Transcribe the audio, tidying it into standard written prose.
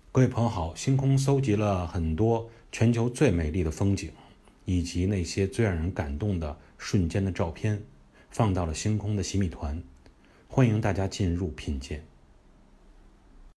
各位朋友好，星空搜集了很多全球最美丽的风景，以及那些最让人感动的瞬间的照片，放到了星空的洗米团，欢迎大家进入品鉴。